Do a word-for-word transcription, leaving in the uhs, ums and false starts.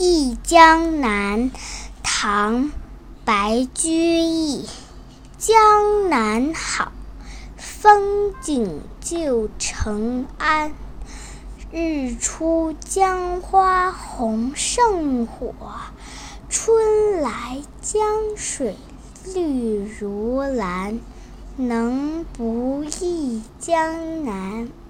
忆江南》唐·白居易。江南好，风景旧城安。日出江花红胜火，春来江水绿如蓝。能不忆江南？